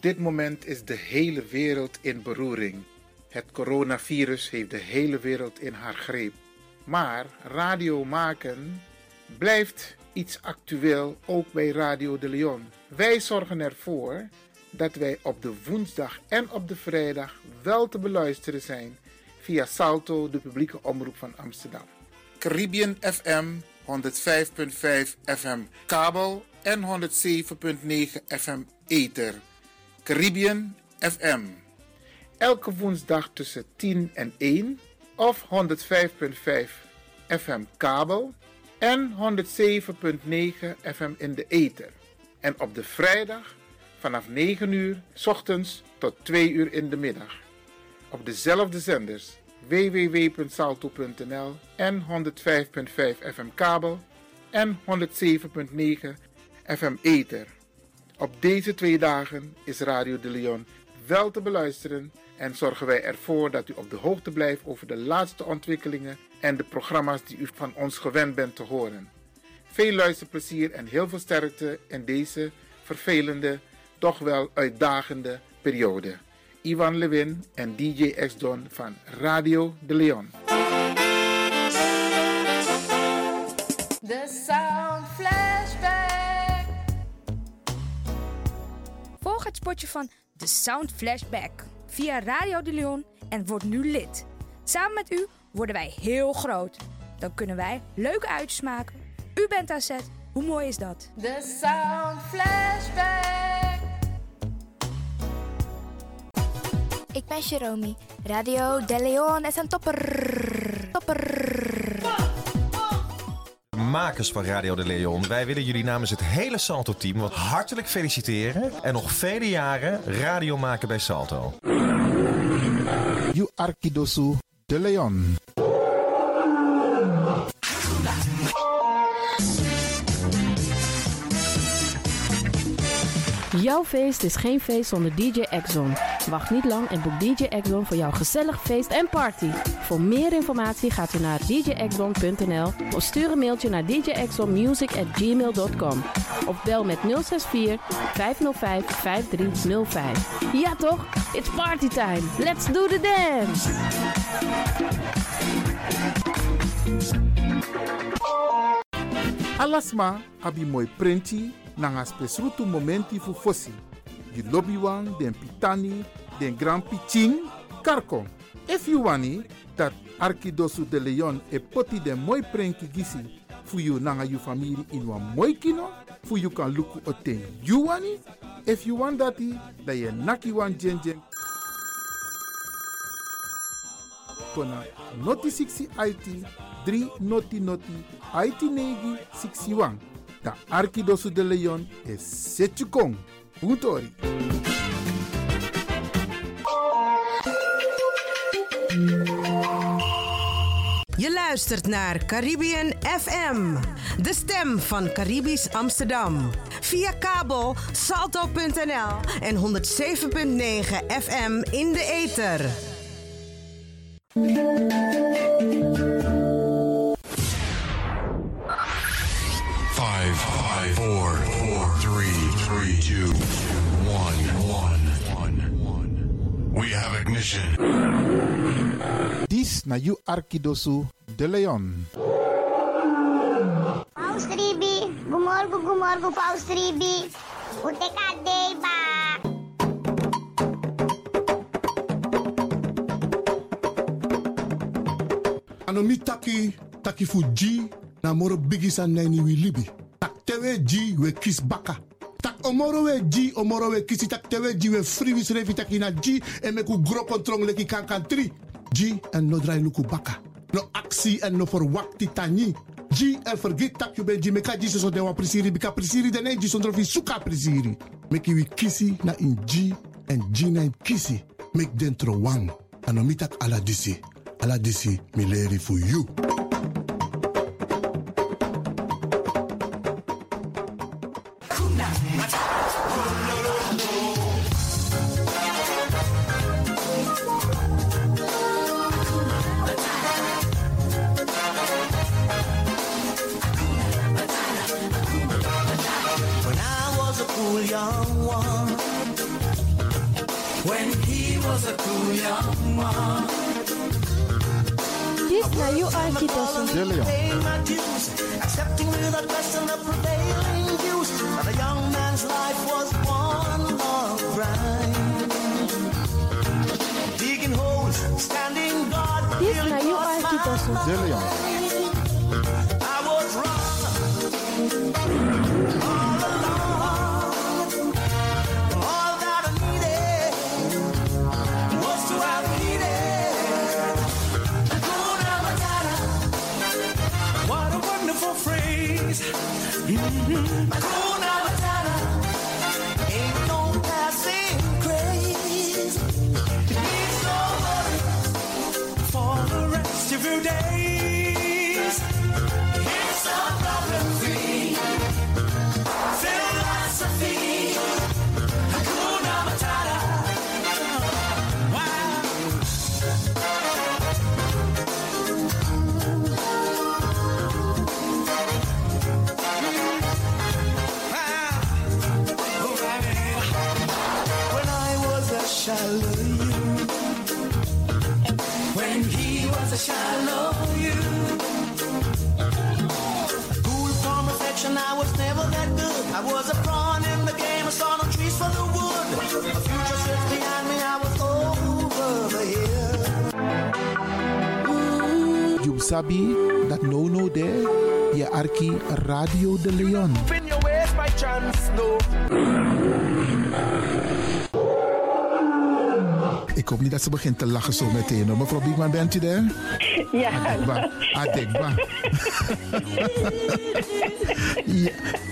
dit moment is de hele wereld in beroering. Het coronavirus heeft de hele wereld in haar greep. Maar radio maken blijft iets actueel, ook bij Radio de Leon. Wij zorgen ervoor dat wij op de woensdag en op de vrijdag wel te beluisteren zijn via Salto, de publieke omroep van Amsterdam. Caribbean FM 105.5 FM kabel en 107.9 FM ether. Caribbean FM. Elke woensdag tussen 10 en 1 of 105.5 FM kabel en 107.9 FM in de ether. En op de vrijdag vanaf 9 uur 's ochtends tot 2 uur in de middag. Op dezelfde zenders www.salto.nl en 105.5 FM kabel en 107.9 FM ether. Op deze 2 dagen is Radio de Leon wel te beluisteren en zorgen wij ervoor dat u op de hoogte blijft over de laatste ontwikkelingen en de programma's die u van ons gewend bent te horen. Veel luisterplezier en heel veel sterkte in deze vervelende, toch wel uitdagende periode. Ivan Lewin en DJ X-Don van Radio de Leon. The Sound Flashback. Volg het spotje van The Sound Flashback via Radio de Leon en word nu lid. Samen met u worden wij heel groot. Dan kunnen wij leuke uitjes maken. U bent aan zet. Hoe mooi is dat? The Sound Flashback. Ik ben Jerome. Radio de Leon is een topper. Makers van Radio de Leon, wij willen jullie namens het hele Salto-team wat hartelijk feliciteren en nog vele jaren radio maken bij Salto. You Arkidosu de Leon. Jouw feest is geen feest zonder DJ X-Zone. Wacht niet lang en boek DJ X-Zone voor jouw gezellig feest en party. Voor meer informatie gaat u naar djxzone.nl of stuur een mailtje naar djxzonemusic@gmail.com of bel met 064 505 5305. Ja toch? It's party time. Let's do the dance! Alasma abi mooi prenti nanga spesrutu momenti fu fossi. You lobby wan, den pitani, den grand piching, karko. If you wani, dat Arkidosu de Leon e poti den mooi prenki gisi fu you nanga you family in wan mooi kino, fu you kan luku oten you wani. If you want dati, da ye naki wan jen jen. Kona noti 60 IT, 3 noti IT negi 61. Da Arkidosu de Leon is Setjukong. Puntori. Je luistert naar Caribbean FM, de stem van Caribisch Amsterdam. Via kabel salto.nl en 107.9 FM in de ether. 5, 4, 3, 2, 1. We have ignition. Dis na you Arkidosu de Leon. Paus Ribi, gumorgo, Paus Ribi. Uteka deba. Anomi taki fuji na moro bigisa nani wi libi. Tak tewe ji we kis baka. Tak omoro we kisi tak tewe ji we free wis revi taki na ji e meku gro kontrong leki kankan 3. Ji en no drai luku baka. No aksi en no verwakti tani. Ji en vergeet tak you ben ji meka ji so dewa prisiri bika prisiri de ne ji sondro fi suka prisiri. Meki wi kisi na in ji en ji na in kisi. Mek dentro wang. Anomi tak ala disi mi leri for you. When I was a cool young one, This na you Archie De Leon. Accepting without question the prevailing views that a young man's life was one long grind. Digging holes, standing guard. This na you Archie De Leon. I was wrong all along. All that I needed was to have needed Hakuna Matata. What a wonderful phrase. Hakuna Matata. Ain't no passing craze. Need no worries for the rest of your days. It's a problem-free philosophy. Hakuna Matata. Wow. When I was a shallow you, when he was a shallow you, cool from affection, I was never that good. I was a pawn in the game, I saw no trees for the wood. The future sits behind me, I was over the hill. You sabi that no there. Je Arki Radio de Leon. In your ways by chance, no. Ik hoop niet dat ze begint te lachen zo meteen. Hoor. Mevrouw Biekman, bent u daar? Ja. Adekba. Ja.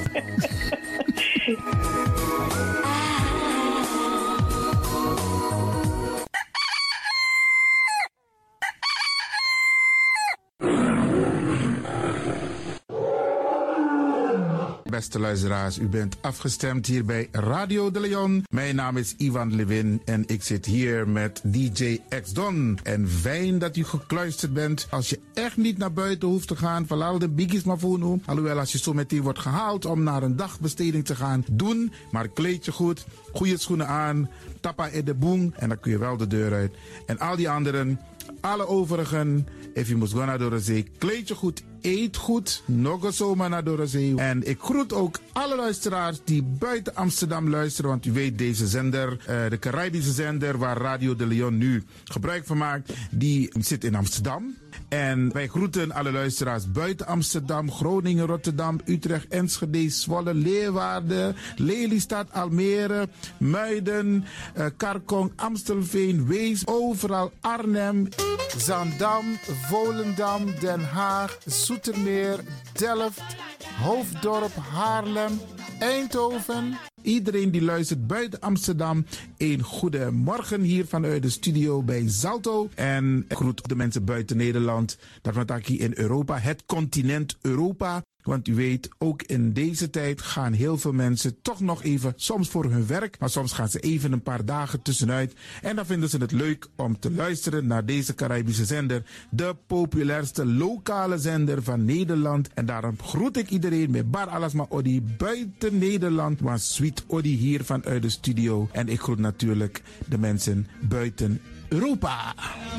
Beste luisteraars, u bent afgestemd hier bij Radio de Leon. Mijn naam is Ivan Levin en ik zit hier met DJ X-Don. En fijn dat u gekluisterd bent. Als je echt niet naar buiten hoeft te gaan, verlaal de biggies maar voor nu. Alhoewel, als je zo meteen wordt gehaald om naar een dagbesteding te gaan, doen. Maar kleed je goed, goede schoenen aan, tappa in de boom en dan kun je wel de deur uit. En al die anderen, alle overigen, if je moet gaan naar de zee, kleed je goed, eet goed, nog eens zomaar naar de zee. En ik groet ook alle luisteraars die buiten Amsterdam luisteren, want u weet deze zender, de Caribische zender waar Radio de Leon nu gebruik van maakt, die zit in Amsterdam. En wij groeten alle luisteraars buiten Amsterdam, Groningen, Rotterdam, Utrecht, Enschede, Zwolle, Leeuwarden, Lelystad, Almere, Muiden, Karkong, Amstelveen, Wees, overal Arnhem, Zaandam, Volendam, Den Haag, Zoetermeer, Delft, Hoofddorp, Haarlem, Eindhoven. Iedereen die luistert buiten Amsterdam, een goede morgen hier vanuit de studio bij Zalto. En ik groet de mensen buiten Nederland, dat wat ik hier in Europa, het continent Europa. Want u weet, ook in deze tijd gaan heel veel mensen toch nog even, soms voor hun werk, maar soms gaan ze even een paar dagen tussenuit. En dan vinden ze het leuk om te luisteren naar deze Caribische zender, de populairste lokale zender van Nederland. En daarom groet ik iedereen met Bar Alasma Odi buiten Nederland, want Sweet Odi hier vanuit de studio. En ik groet natuurlijk de mensen buiten Europa.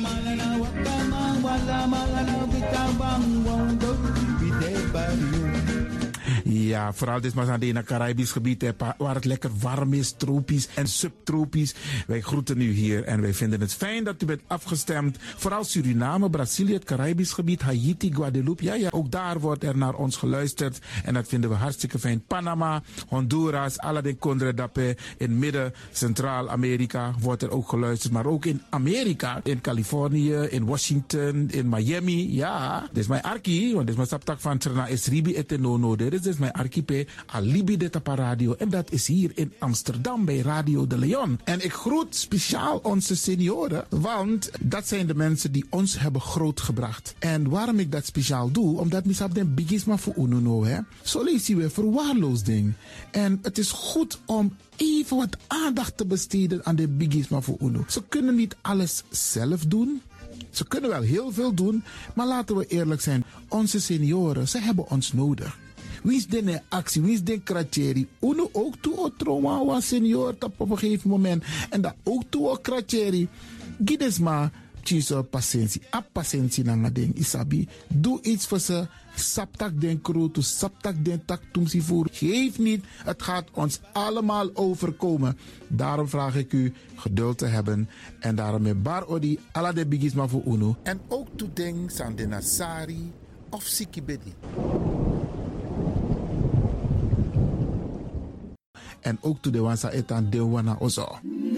Ja, vooral dit maar aan het Caribisch gebied, waar het lekker warm is, tropisch en subtropisch. Wij groeten u hier en wij vinden het fijn dat u bent afgestemd. Vooral Suriname, Brazilië, het Caribisch gebied, Haiti, Guadeloupe. Ja, ook daar wordt er naar ons geluisterd en dat vinden we hartstikke fijn. Panama, Honduras, Aladdin Condre Dapé, in midden, Centraal-Amerika wordt er ook geluisterd. Maar ook in Amerika, in Californië, in Washington, in Miami. Ja, dit is mijn arki, want dit is mijn saptak van Trena Esribi et Nono. Dit is mijn archipel Alibi de Tapa Radio. En dat is hier in Amsterdam bij Radio de Leon. En ik groet speciaal onze senioren, want dat zijn de mensen die ons hebben grootgebracht. En waarom ik dat speciaal doe, omdat misap den bigisma voor ununo, hè. Zo lezen we verwaarloosding. En het is goed om even wat aandacht te besteden aan de bigisma voor uno. Ze kunnen niet alles zelf doen. Ze kunnen wel heel veel doen, maar laten we eerlijk zijn. Onze senioren, ze hebben ons nodig. Wie is de actie? Wie is de kratjeri? Uno ook toe o trauma wa senior op een gegeven moment. En dat ook toe o kratjeri. Gides maar chiso patiëntie. A patiëntie na ding isabi. Doe iets voor ze. Saptak den kroto, saptak den tak tumsi voer. Geef niet, het gaat ons allemaal overkomen. Daarom vraag ik u geduld te hebben. En daarom met bar odi, ala de bigisma voor uno. En ook toe ding san de nasari of sikibedi. En ook toe de wansa etan de wana ozo.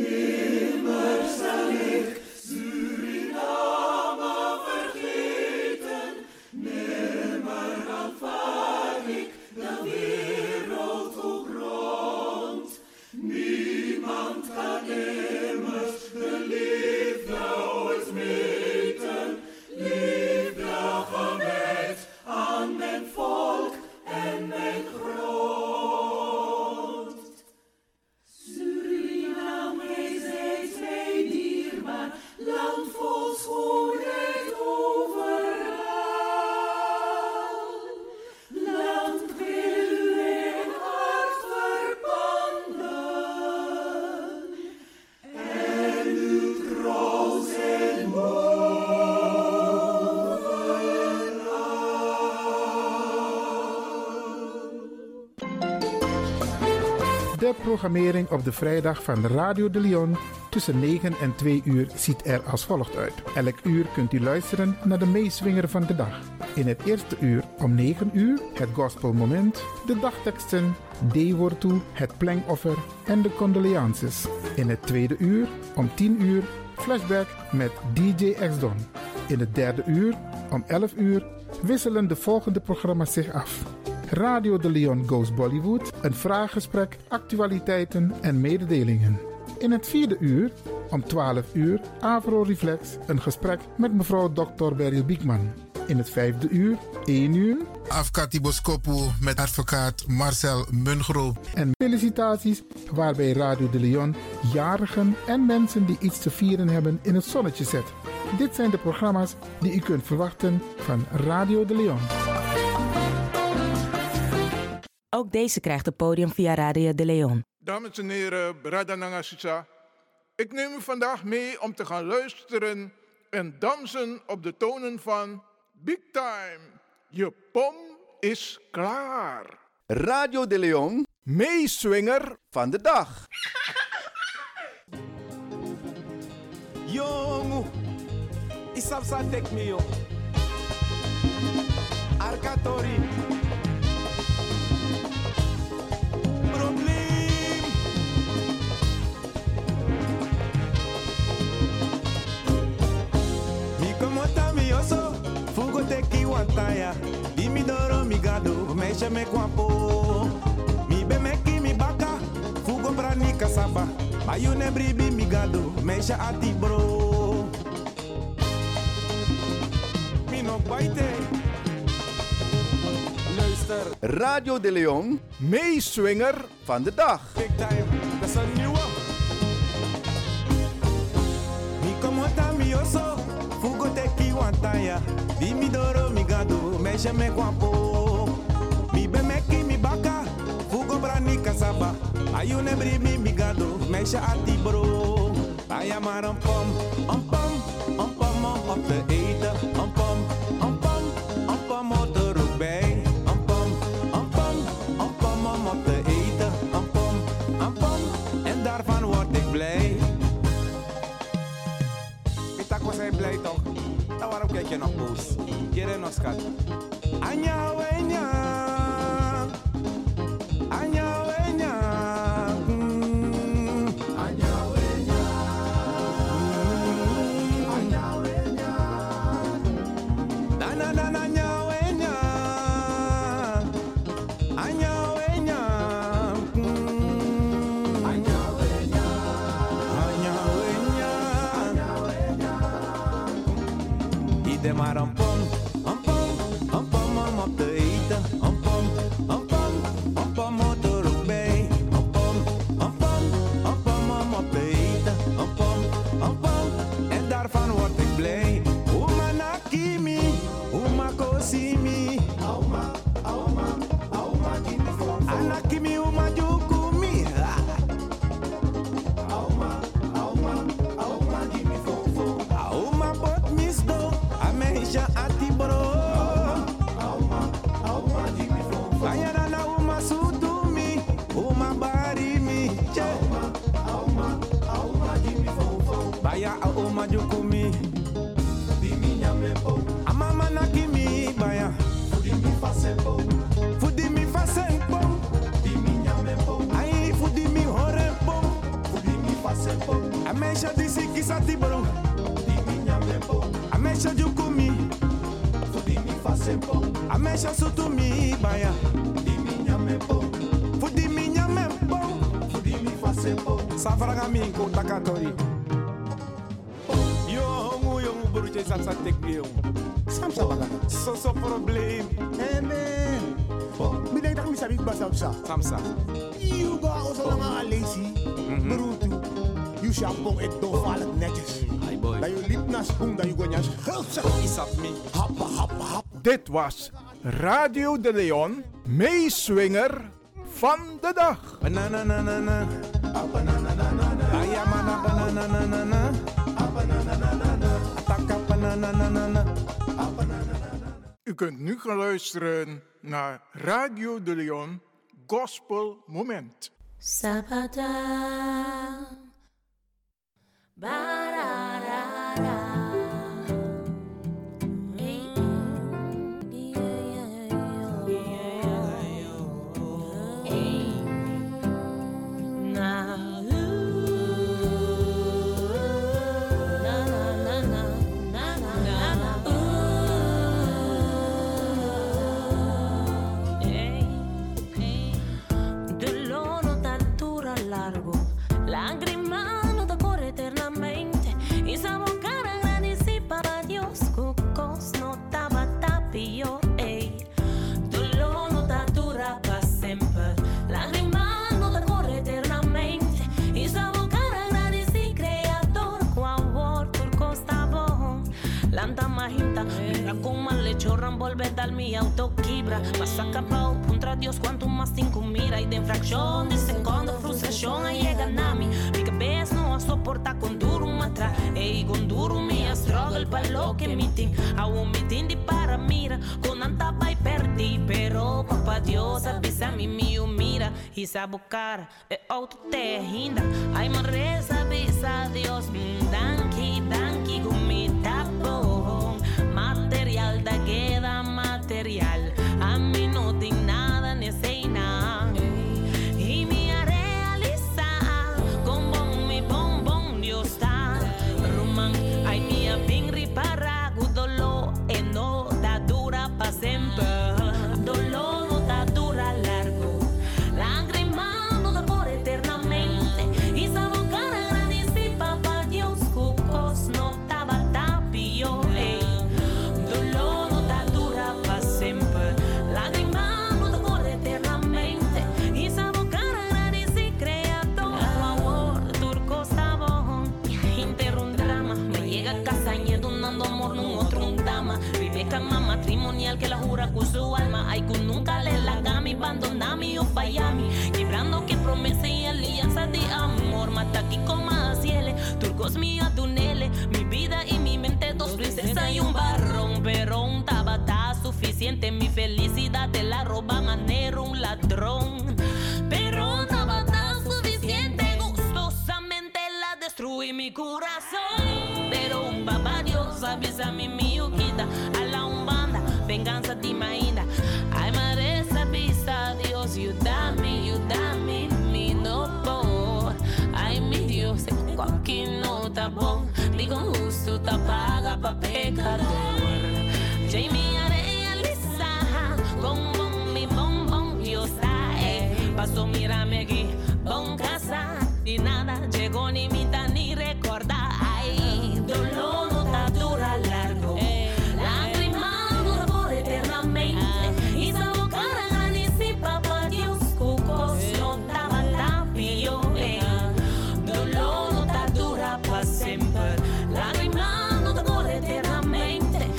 De programmering op de vrijdag van Radio de Leon tussen 9 en 2 uur ziet er als volgt uit. Elk uur kunt u luisteren naar de meeswinger van de dag. In het eerste uur om 9 uur het gospelmoment, de dagteksten, D-woord toe, het plengoffer en de condolences. In het tweede uur om 10 uur flashback met DJ X-Don. In het derde uur om 11 uur wisselen de volgende programma's zich af. Radio de Leon Goes Bollywood, een vraaggesprek, actualiteiten en mededelingen. In het vierde uur, om 12 uur, Avro Reflex, een gesprek met mevrouw Dr. Beryl Biekman. In het vijfde uur, 1 uur, Afkati Boskopu met advocaat Marcel Mungro. En felicitaties waarbij Radio de Leon jarigen en mensen die iets te vieren hebben in het zonnetje zet. Dit zijn de programma's die u kunt verwachten van Radio de Leon. Ook deze krijgt het podium via Radio de Leon. Dames en heren, Brada Nangasisa. Ik neem u vandaag mee om te gaan luisteren en dansen op de tonen van Big Time. Je pom is klaar. Radio de Leon, meeswinger van de dag. Jongu, isapsa tek me yo. Arkatori. Probleem. Mi como tami oso, fugo teki wantaya. Di mi doro mi gado, meisje me kwapo. Mi be meki mi baka, fugo brani kasaba. Ayune bribi mi gado, meisje ati bro. Mi no baite. Luister. Radio de Leon, meeswinger van de dag. Big Time, dat is een nieuwe. Mi como tami oso, fugo teki wantaya. Di mi doro mi gado, meisje me kwapo. Mi be meki mi baka, fugo brani kasaba. Ayune bribi mi gado, meisje ati bro. Aya maar een pom om op te eten. Een pom op de rook bij. Een pom om op te eten. Een pom, en daarvan word ik blij. Pitak was hij blij toch? Nou waarom kijk je nog boos? Jere nog schat. Anja wenya. Anja wenya. Anja wenya. Anja wenya. Na na na anja wenya. Anja wenya. Anja wenya. Anja wenya. Anja wenya. Ide maar een pom om op te eten. Een pom op de rook bij. Een pom om op te eten. Een pom, en daarvan word ik blij. Uma nakimi, uma kosimi. Auma, Anakimi umajukumi. Auma bot misdo. Ameisha atiboro. Ayana na uma sudumi. Uma barimi. Baya auma jukumi. Amama nakimi baya. Fudi mi fasempo. Ai fudi mi horempo. Amesha disi kisati bro. Amesha jukumi. Amesha sutumi baya. Fudi mi nyamempo. Safraga mi ko takatori. Yo hongu yongu buruche samsa tekbiyo. Samsa baga. So probleem. Amen. Mi denk dat mi sabi ba samsa. Samsa. You ga oso lang ang lazy. Berutu. You shampoo et do vallen netjes. Dat je liep naar spoen, dat je gonjas geld zegt. Isap me. Happa, happa, happa. Dit was Radio de Leon, meeswinger van de dag. Banana na na na. Ayamana banana na na na. Ataka banana na na na. U kunt nu gaan luisteren naar Radio de Leon Gospel Moment. Sabada, bararara. Volver mi autoquibra. Vas a capao contra Dios quanto mais cinco mira. E de infração de segundo frustração aí chega na mi. Mi cabeça não a suporta com duro matra. Ei, com duro me struggle para lo que me tem. A um me tem de para mira. Com anta vai perdi. Pero papá Dios avisa mi mira. E sabe o cara é auto terrinda. Ai, mas reza avisa Deus. Danke, gumita bom. Material da queda material. A mí no tengo nada ni sei nada. Y me realiza con mi bombón Dios está. Ruman, ay mía bien ripara. Dolor no da dura pa' siempre. Dolor no da dura largo. Lágrimas no da por eternamente. Y esa boca agradecida papá Dios. Cucos no estaba tapio. Matrimonial que la jura con su alma. Ay, que nunca le lagami, abandonami o fallami. Quebrando que promesa y alianza de amor. Mata aquí como a ciele, turcos mío tunele. Mi vida y mi mente, dos princesas y un barrón. Pero un tabata suficiente, mi felicidad te la roba manero un ladrón. Pero un tabata suficiente, gustosamente la destruí mi corazón. Pero un papá Dios avisa mi miuquita. Venganza di mainda. Ay, madre, sabisa Dios, you dame, mi no por. Ay, mi Dios, cualquier nota bon. Digo justo, te paga pa' pecador. Jamie, realiza, con mi bombón, Dios sabe. Paso, mírame aquí, bon casa. Y nada, llegó ni mitad ni recordar. Ay, dolor no ta dura largo. Dolor no ta dura pa' siempre. Lágrimas no te corre eternamente.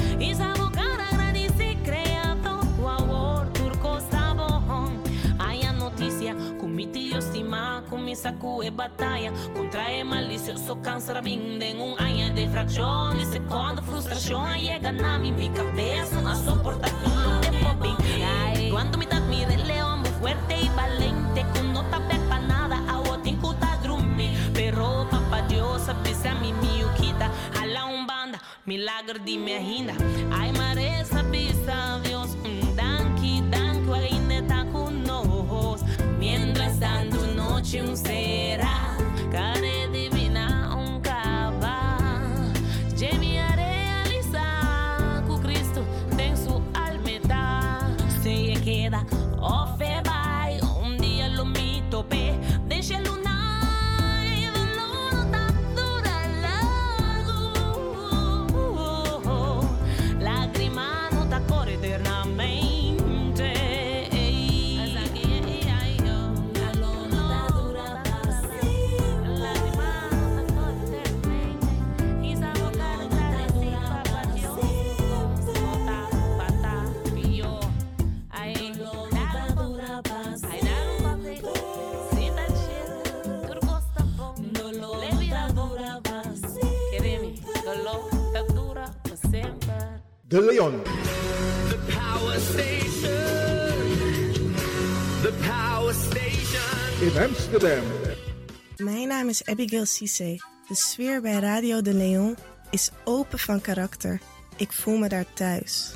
misa cue battaglia contra il malizioso câncer vinde un año de fracción y secondo frustración llega na mi cabeza a soportar todo el tiempo bien. Cuando mi mi león muy fuerte y valiente con no tape pa nada a otin kuta drummi pero papá Dios avisa mi miuquita a la umbanda milagre di me hinda ay maresa bisa Dios danki ainda tá conosco mientras tanto noche será care divina cava gemi a realizar con Cristo tem su alma se queda ofe vai dia lo mi tope deixa luna lágrima no ta corre eternamente. De Leon. The Power Station. The Power Station. In Amsterdam. Mijn naam is Abigail Cissé. De sfeer bij Radio de Leon is open van karakter. Ik voel me daar thuis.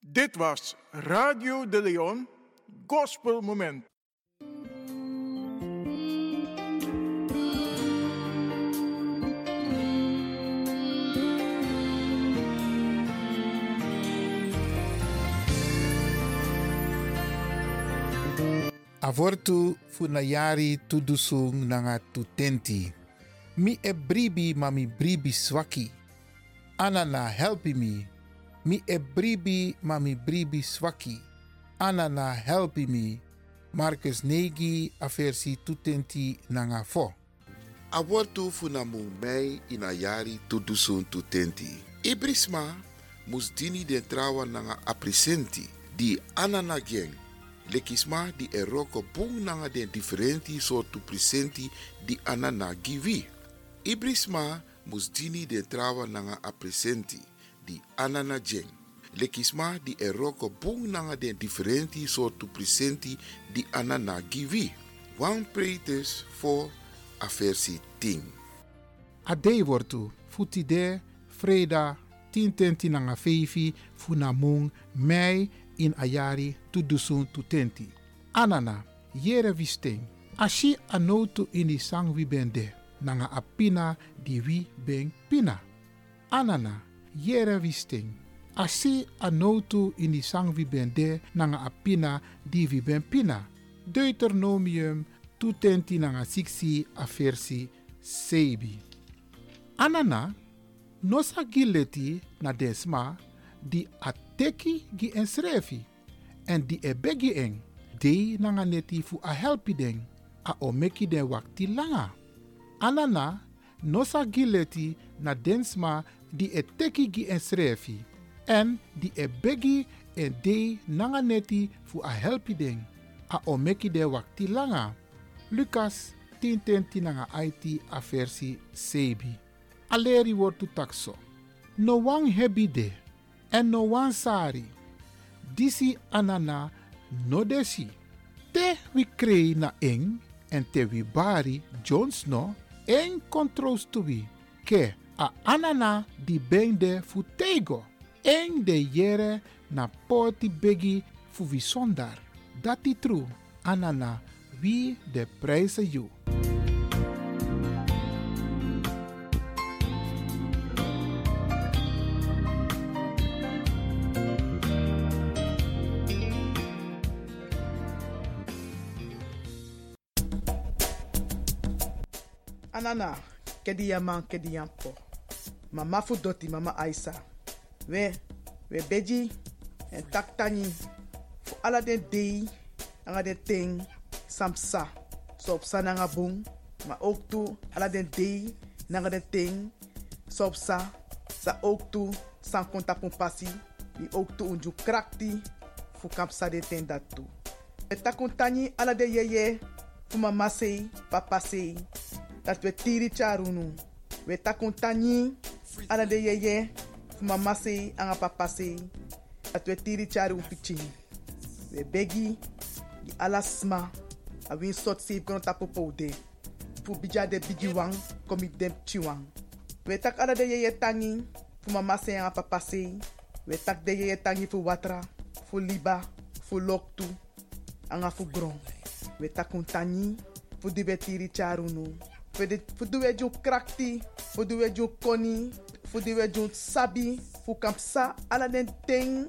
Dit was Radio de Leon, Gospel Moment. Avortu funayari tudusung nanga tutenti. Mi e bribi mami bribi swaki. Anana helpi mi. Mi e bribi mami bribi swaki. Anana helpi mi. Marcus Negi aversi tutenti nanga fo. Abortu funamung mei inayari tudusun tutenti. Ibrisma musdini den trawa nanga apresenti di anana geng. Lekisma di eroko bung nanga den differenti soortu presenti di anana givi. Ibrisma musdini den trawa nanga apresenti di anana jeng. Lekisma di eroko bung nanga den differenti soortu presenti di anana givi. Wan pretes for aversi ting. Adei wortu futide freda tintenti nanga feifi funamung mei in ayari tudusun tutenti. Anana yere wisteng. Ashi anotu ini sang wi bende nanga apina di wi ben pina. Anana yere wisteng. Ashi anotu ini sang wi bende nanga apina di wi ben pina. Deuteronomium tutenti nanga 6 aversi sebi. Anana nosa gileti na desma di ateki gi ensrefi en di ebegi eng dei nanga neti fu a helpi den a omeki den wakti langa. Anana nosa gileti na densma di eteki gi ensrefi en di ebegi en dei nanga neti fu a helpi den a omeki den wakti langa. Lucas 10:10 nanga IT a versi sebi. Aleri wortu takso. No wan hebide en no wan sari. Disi anana no desi. Te wi krei na eng en te wi bari Jones no en kontros tu wi. Ke a anana di bende fu tego. En de yere na poti begi fu wi sondar. Dati tru anana wi de prijzen you. Anana, kedi yaman kedi yampo. Mama fu doti mama Aisa. We beji en taktani. Fu ala den dei, anga den ting, samsa. So op sa nanga bung, maar ook toe ala den dei, nanga den ting, so op sa ook toe, san konta pon pasi, die ook toe unju krakti, fu kapsa de ten dat toe. We takuntani ala de yeye, fu mama sei, papa sei, dat we tiri charunu. We takuntani ala de yeye, fu mama sei, anga papa sei, dat we tiri charu piching. We begi, di alasma, a win sot save kono tapo poude. Fu bija de bigi wang, komi dem chiwang. We tak ala de yeye tangi, fu mama sei, anga papa sei. We tak de yeye tangi fu watra, fu liba, fu loktu, anga fu gron. We takuntani, fu di betiri charunu. Fu duwe ju krakti, fu duwe ju koni, fu duwe ju sabi, fu kampsa, ala den ting,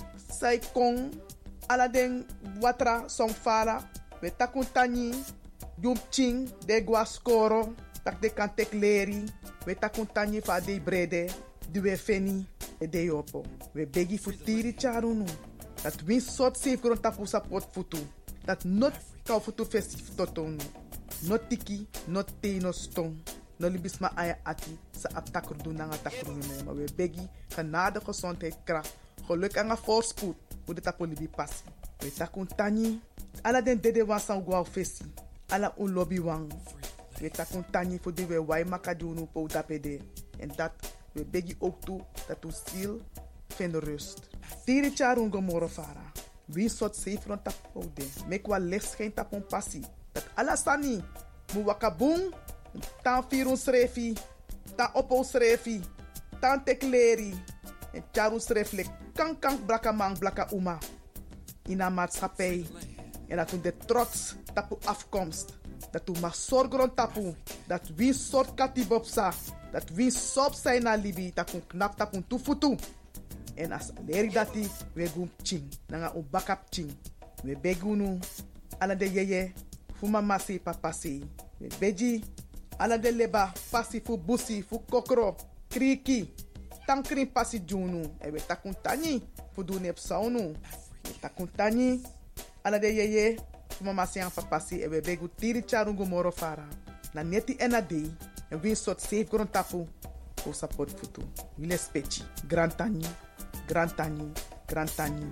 sai kong, ala den watra song fala. We takuntani, jum ching, de guascoro, tak de kantek leri. We takuntani fa de brede, duwe feni, de yopo. We begi fu tiri charunu. Dat win sot safe grond tapu sapot futu. Dat not kau futu festif totonu. Not tiki, not te, no stong. No libisma aya ati, sa aptakrudu nanga takrunu maar we begi, genade, gezondheid, kracht. Geluk en voorspoed, hoe de tapo libi passi. We takuntani, ala den dede wasan guau fesi. Ala un lobby wang. We takuntani voor die we wai makadunu po tapede. En dat we begi ook toe, dat u ziel vinden rust. Tiri charungo moro fara. Wie soort zeefron tapo de. Mekwa licht geen tapon passi. Dat alasani, mu wakabung, tan firun srefi, tan opo srefi, tan tekleri, En charus reflect kan blaka man blaka uma. In een maatschappij. En dat we de trots tapu afkomst. Dat we mag zorgen tapu. Dat we een soort katibopsa. Dat we sop zijn na libi. Dat we knap tapu tufutu. En als leri dati we gum ching. Nanga u bakap ching. We begunu. Ala de yeye. Fuma masi papasi. We beji. Ala de leba. Pasi fu busi. Fu kokro. Kriki. Tankrin pasi junu. E we takuntani. Fu dune psaunu. We takuntani. Ala de yeye. Fuma masi an papasi. E we begu tiri charungu moro fara. Na neti ena dei. En we sort safe grond tapu. Fu support futu. Wile spechi. Grantani. Grantani. Grantani.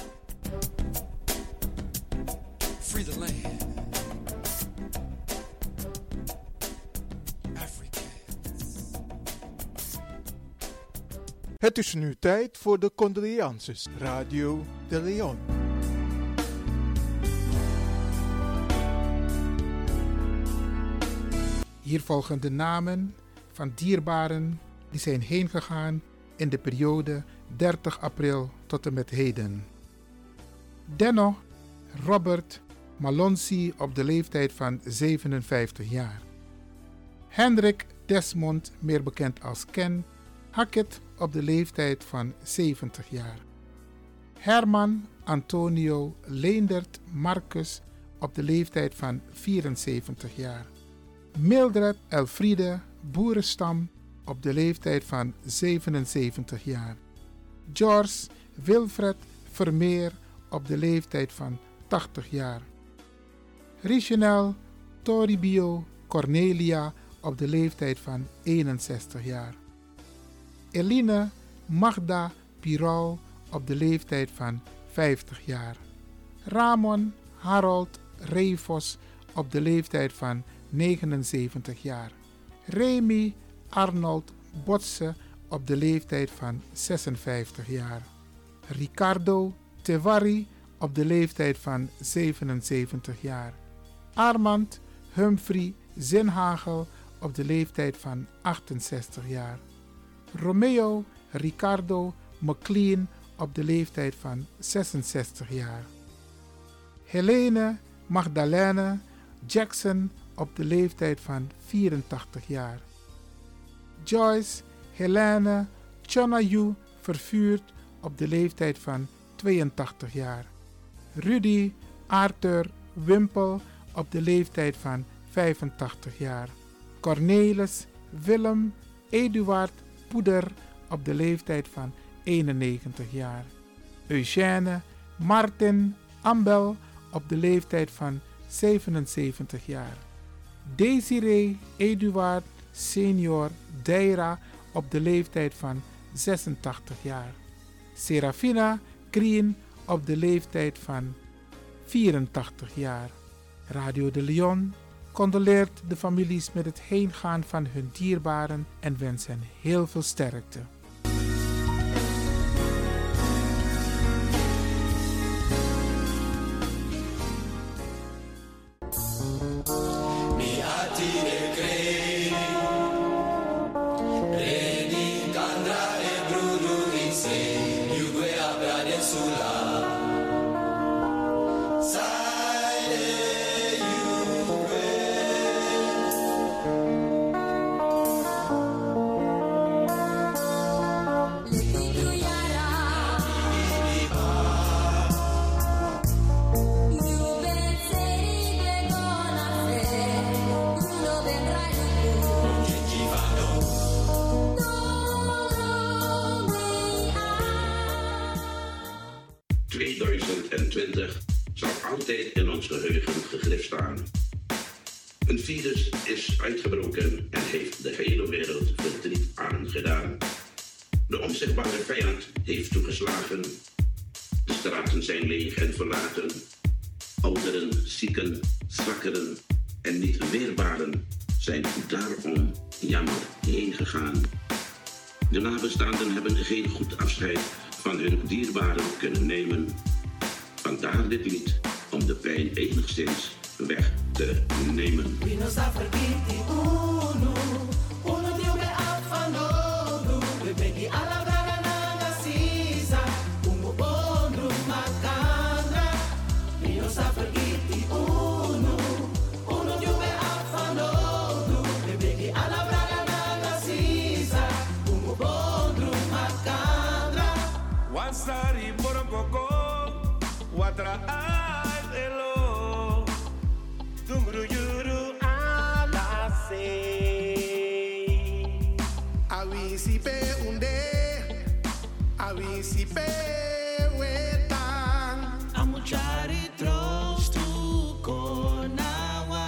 Free the land. Het is nu tijd voor de condolences. Radio de Leon. Hier volgen de namen van dierbaren die zijn heengegaan in de periode 30 april tot en met heden. Denno Robert Malonsi op de leeftijd van 57 jaar. Hendrik Desmond, meer bekend als Ken Hackett op de leeftijd van 70 jaar. Herman Antonio Leendert Marcus op de leeftijd van 74 jaar. Mildred Elfriede Boerenstam op de leeftijd van 77 jaar. George Wilfred Vermeer op de leeftijd van 80 jaar. Richenel Toribio Cornelia op de leeftijd van 61 jaar. Eline Magda Piral op de leeftijd van 50 jaar. Ramon Harold Reivos op de leeftijd van 79 jaar. Remy Arnold Botse op de leeftijd van 56 jaar. Ricardo Tevari op de leeftijd van 77 jaar. Armand Humphrey Zinhagel op de leeftijd van 68 jaar. Romeo Ricardo McLean op de leeftijd van 66 jaar. Helene Magdalene Jackson op de leeftijd van 84 jaar. Joyce Helene Chonayu Vervuurd op de leeftijd van 82 jaar. Rudy Arthur Wimpel op de leeftijd van 85 jaar. Cornelis Willem Eduard Poeder op de leeftijd van 91 jaar. Eugène Martin Ambel op de leeftijd van 77 jaar. Desiree Eduard Senior Deira op de leeftijd van 86 jaar. Serafina Krien op de leeftijd van 84 jaar. Radio de Leon condoleert de families met het heengaan van hun dierbaren en wens hen heel veel sterkte. Een virus is uitgebroken en heeft de hele wereld verdriet aangedaan. De onzichtbare vijand heeft toegeslagen. De straten zijn leeg en verlaten. Ouderen, zieken, zwakkeren en niet weerbaren zijn daarom jammer heen gegaan. De nabestaanden hebben geen goed afscheid van hun dierbaren kunnen nemen. Vandaar dit lied om de pijn enigszins weg te nemen. Awisipe unde, awisipe wetan. Amuchari troost tu konawa.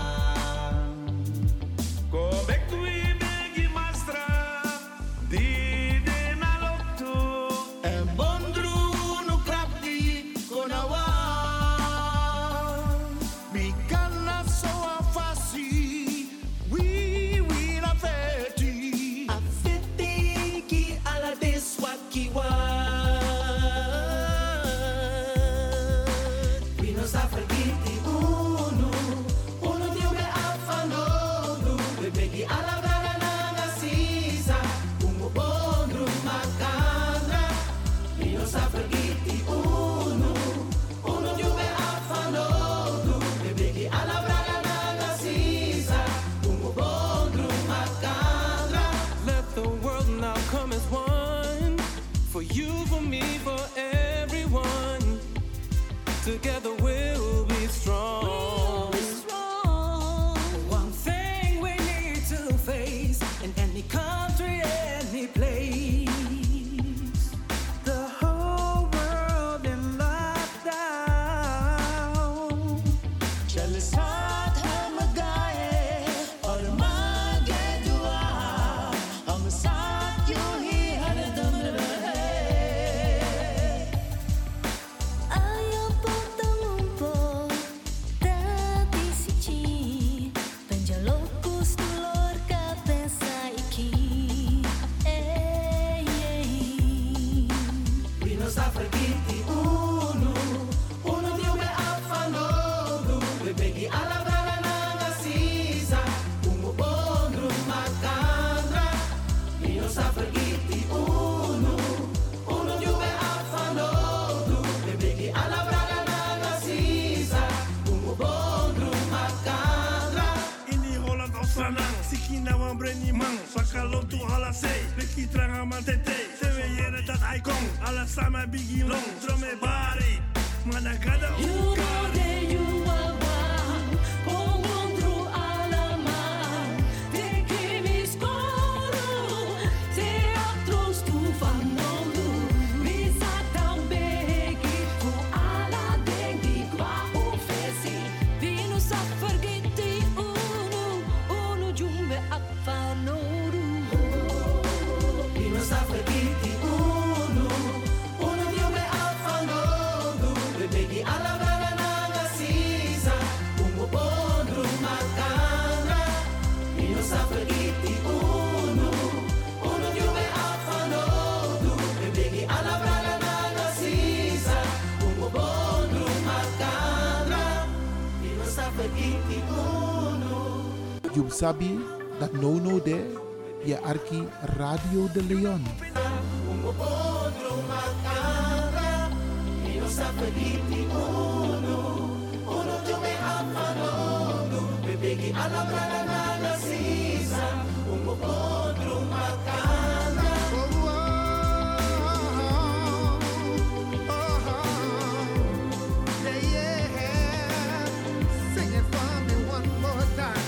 Go back to Ibegi Mastra, di de naloktu. En bondru no krapti konawa. Bikana so afasi, we will afeti. Afeti ki ala deswat ki wa. We no suffer giti unu, unu dio me afanodu. We begi ala braga nanga sisa, ungo bondru makandra. We no suffer giti unu, unu dio me afanodu. We begi ala braga nanga sisa, ungo bondru makandra. Let the world now come as one. For you, for me, for everyone. Together we'll be strong. One thing we need to face in any country, any place. The whole world in lockdown. Jealous heart, I'm a guy, or a man get you out. I'm a sad, you hear the dumb. Ayaw potong-umpo dati si Chi Penjalocos tulor ka pensa iki We no suffer giti unu, unu dio me afanodu. We begi ala braga nanga sisa, ungo bondru makandra. We no suffer giti unu, unu dio me afanodu. We begi ala braga nanga sisa, ungo bondru makandra. Ini Holland Australang, Siki na wan breni man, Sakalo tu ala sei, Beki tranga man tete, Sewe yere dat icon, Ala sama bigi long, Drome bari, Managada You know that you are one, Pongondru alaman, te kimis koro, teatros tu fanodu, Bisatang begi fu ala dengi kwa ufesi, Vino suffer giti unu jumbe afanodu We no suffer giti unu, unu dio me afanodu. We begi ala braga nanga sisa, ungo bondru makandra. We no suffer giti unu, unu dio me afanodu. We begi ala braga nanga sisa, ungo bondru makandra. We no suffer giti unu. You sabi dat no there, je arki Radio de Leon. Ungo bondru makandra. We no suffer giti unu, unu dio me afanodu. We begi ala braga nanga sisa, ungo bondru makandra. Sing it for me one more time.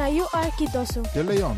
na you Arkidosu. De Leon.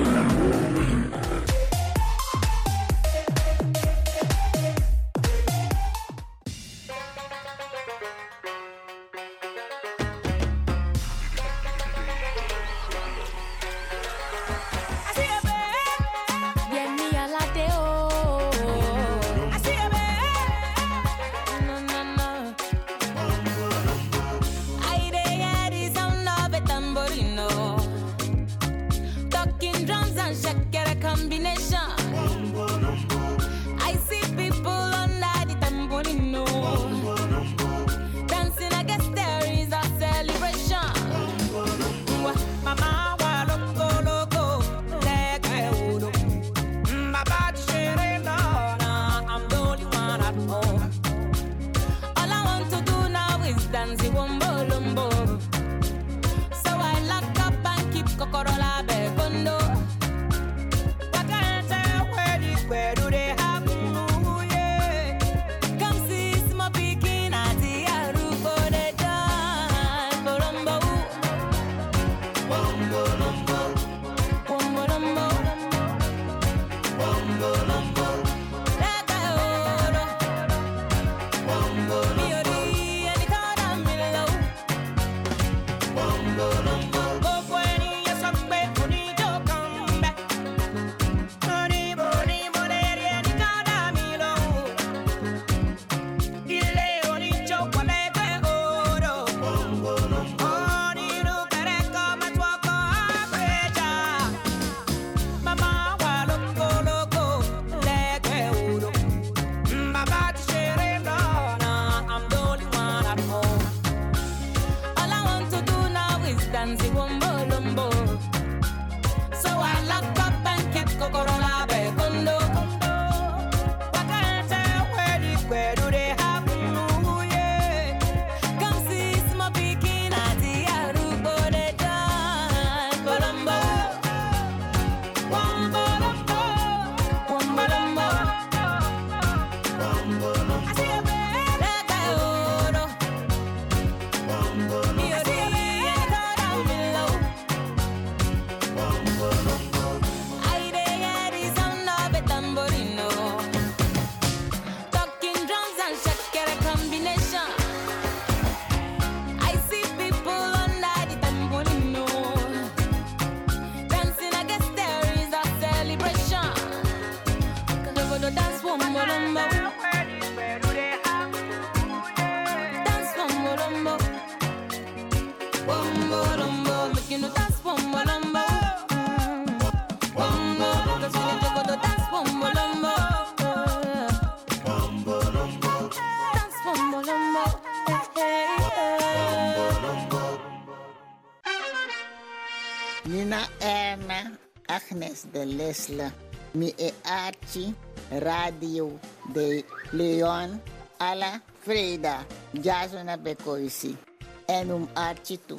Nina Erna, Agnes de Lesle, mi e Archie, Radio de Leon, alla Freda, Jasona Bekoisi, en Archie toe.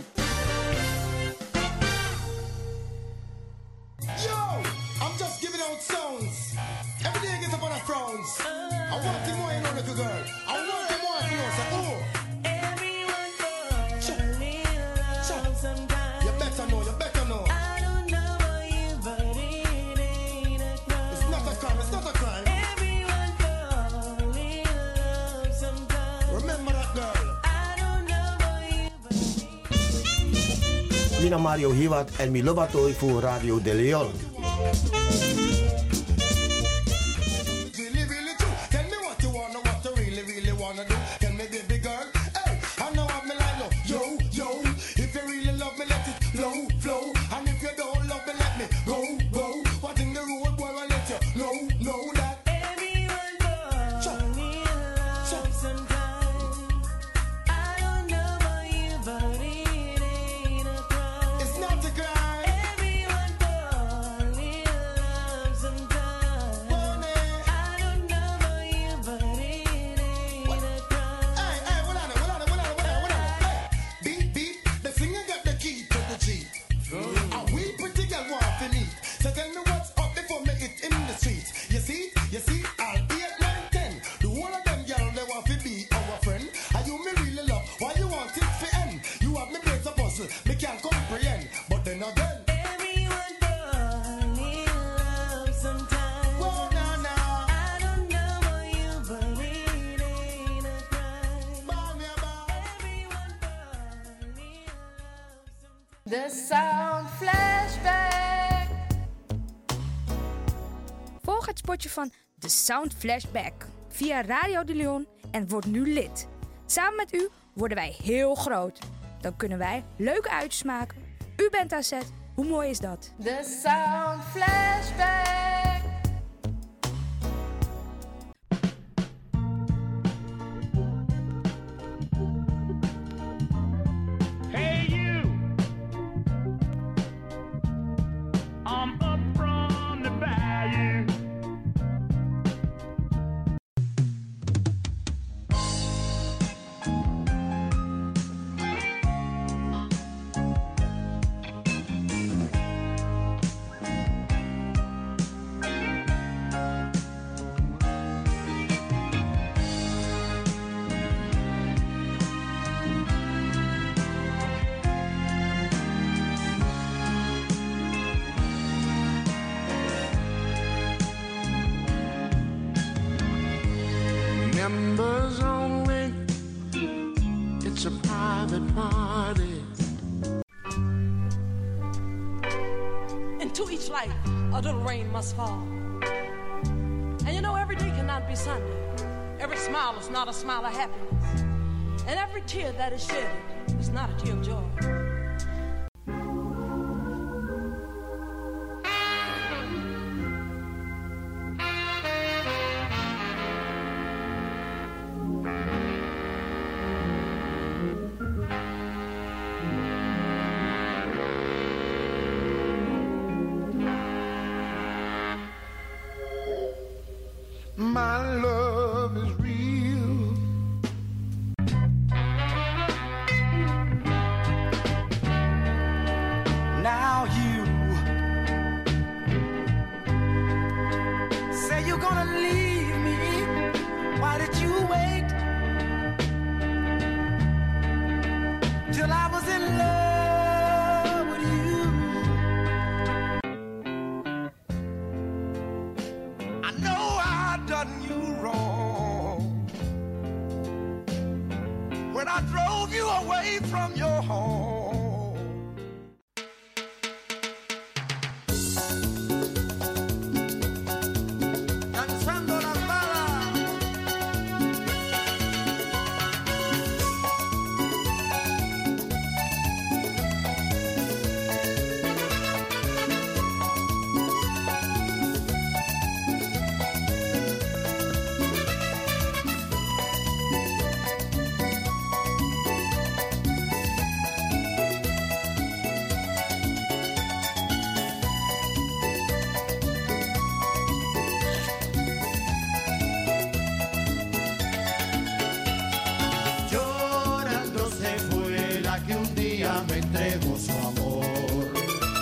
Yo, I'm just giving out songs. Every day I get up on a frowns. I want to more, you know, little girl. I want to more, you know, so, oh. Everyone goes a little love sometimes. You better know, you better know. I don't know you, but it ain't a crime. It's not a crime, it's not a crime. Everyone goes a little love sometimes. Remember that girl. I don't know you, Mina Mario Hiwat en mi lobatoi voor Radio De Leon. It's not a crime. Everyone fall in love sometimes. The Sound Flashback. Volg het spotje van The Sound Flashback via Radio de Leon en word nu lid. Samen met u worden wij heel groot. Dan kunnen wij leuke uitjes maken. U bent aan zet. Hoe mooi is dat? The Sound Flashback. Hey you, I'm up from the bayou. Members only, it's a private party. Into each life, a little rain must fall. And you know, every day cannot be Sunday. Every smile is not a smile of happiness. And every tear that is shed is not a tear of joy. My love is real. Now you say you're gonna leave me. Why did you wait till I was in love with you? I know I done you wrong when I drove you away from your home. Danzando las balas. Llorando se fue la que un día me entregó su amor.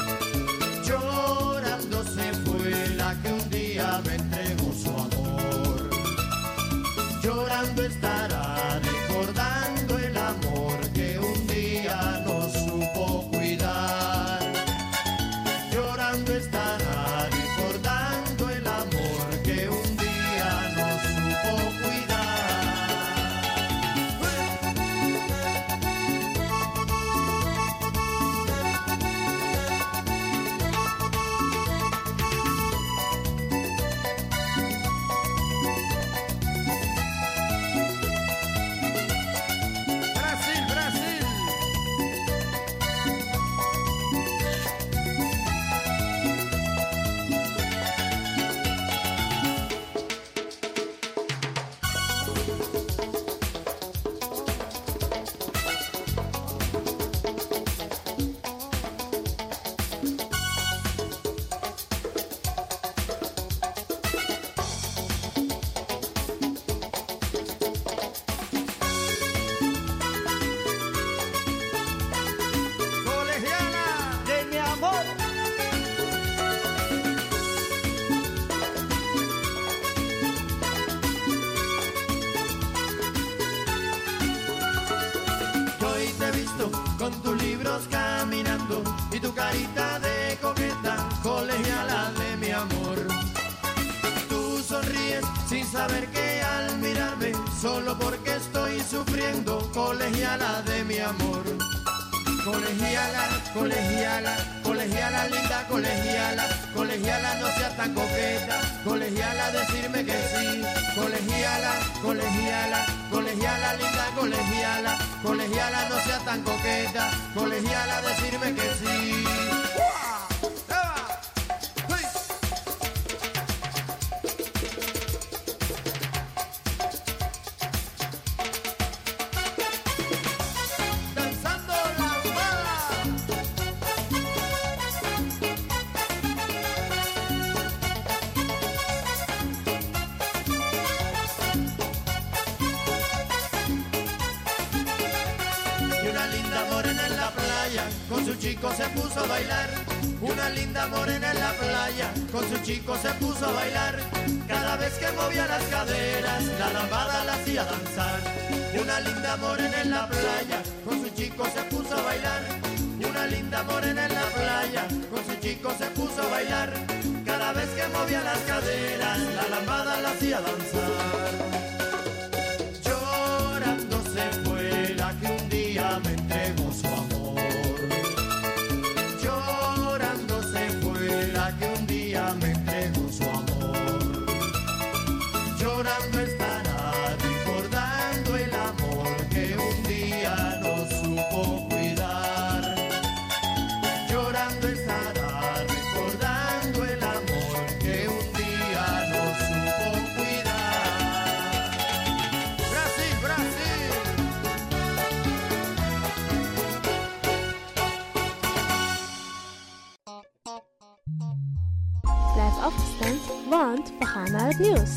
Llorando se fue la que un día me entregó su amor. Llorando estará recordando el amor que un día no supo cuidar. Llorando estará recordando el amor que un día no supo cuidar. Brasil, Brasil. Colegiala de mi amor. Yo hoy te he visto con tus libros caminando y tu carita de coqueta, colegiala de mi amor. Tú sonríes sin saber que al mirarme, solo porque estoy sufriendo, colegiala de mi amor. Colegiala, colegiala, colegiala linda, colegiala, colegiala no sea tan coqueta, colegiala decirme que sí, colegiala, colegiala, colegiala linda, colegiala, colegiala no sea tan coqueta, colegiala decirme que sí. Chico se puso a bailar, una linda morena en la playa, con su chico se puso a bailar, cada vez que movía las caderas, la lambada la hacía danzar. Una linda morena en la playa, con su chico se puso a bailar, una linda morena en la playa, con su chico se puso a bailar, cada vez que movía las caderas, la lambada la hacía danzar. Llorando se fue la que un día me entregó su amor. Me entregó su amor, llorando estará recordando el amor que un día no supo cuidar, llorando estará recordando el amor que un día no supo cuidar. Brasil, Brasil. Blijf afgestemd, want we gaan naar het nieuws.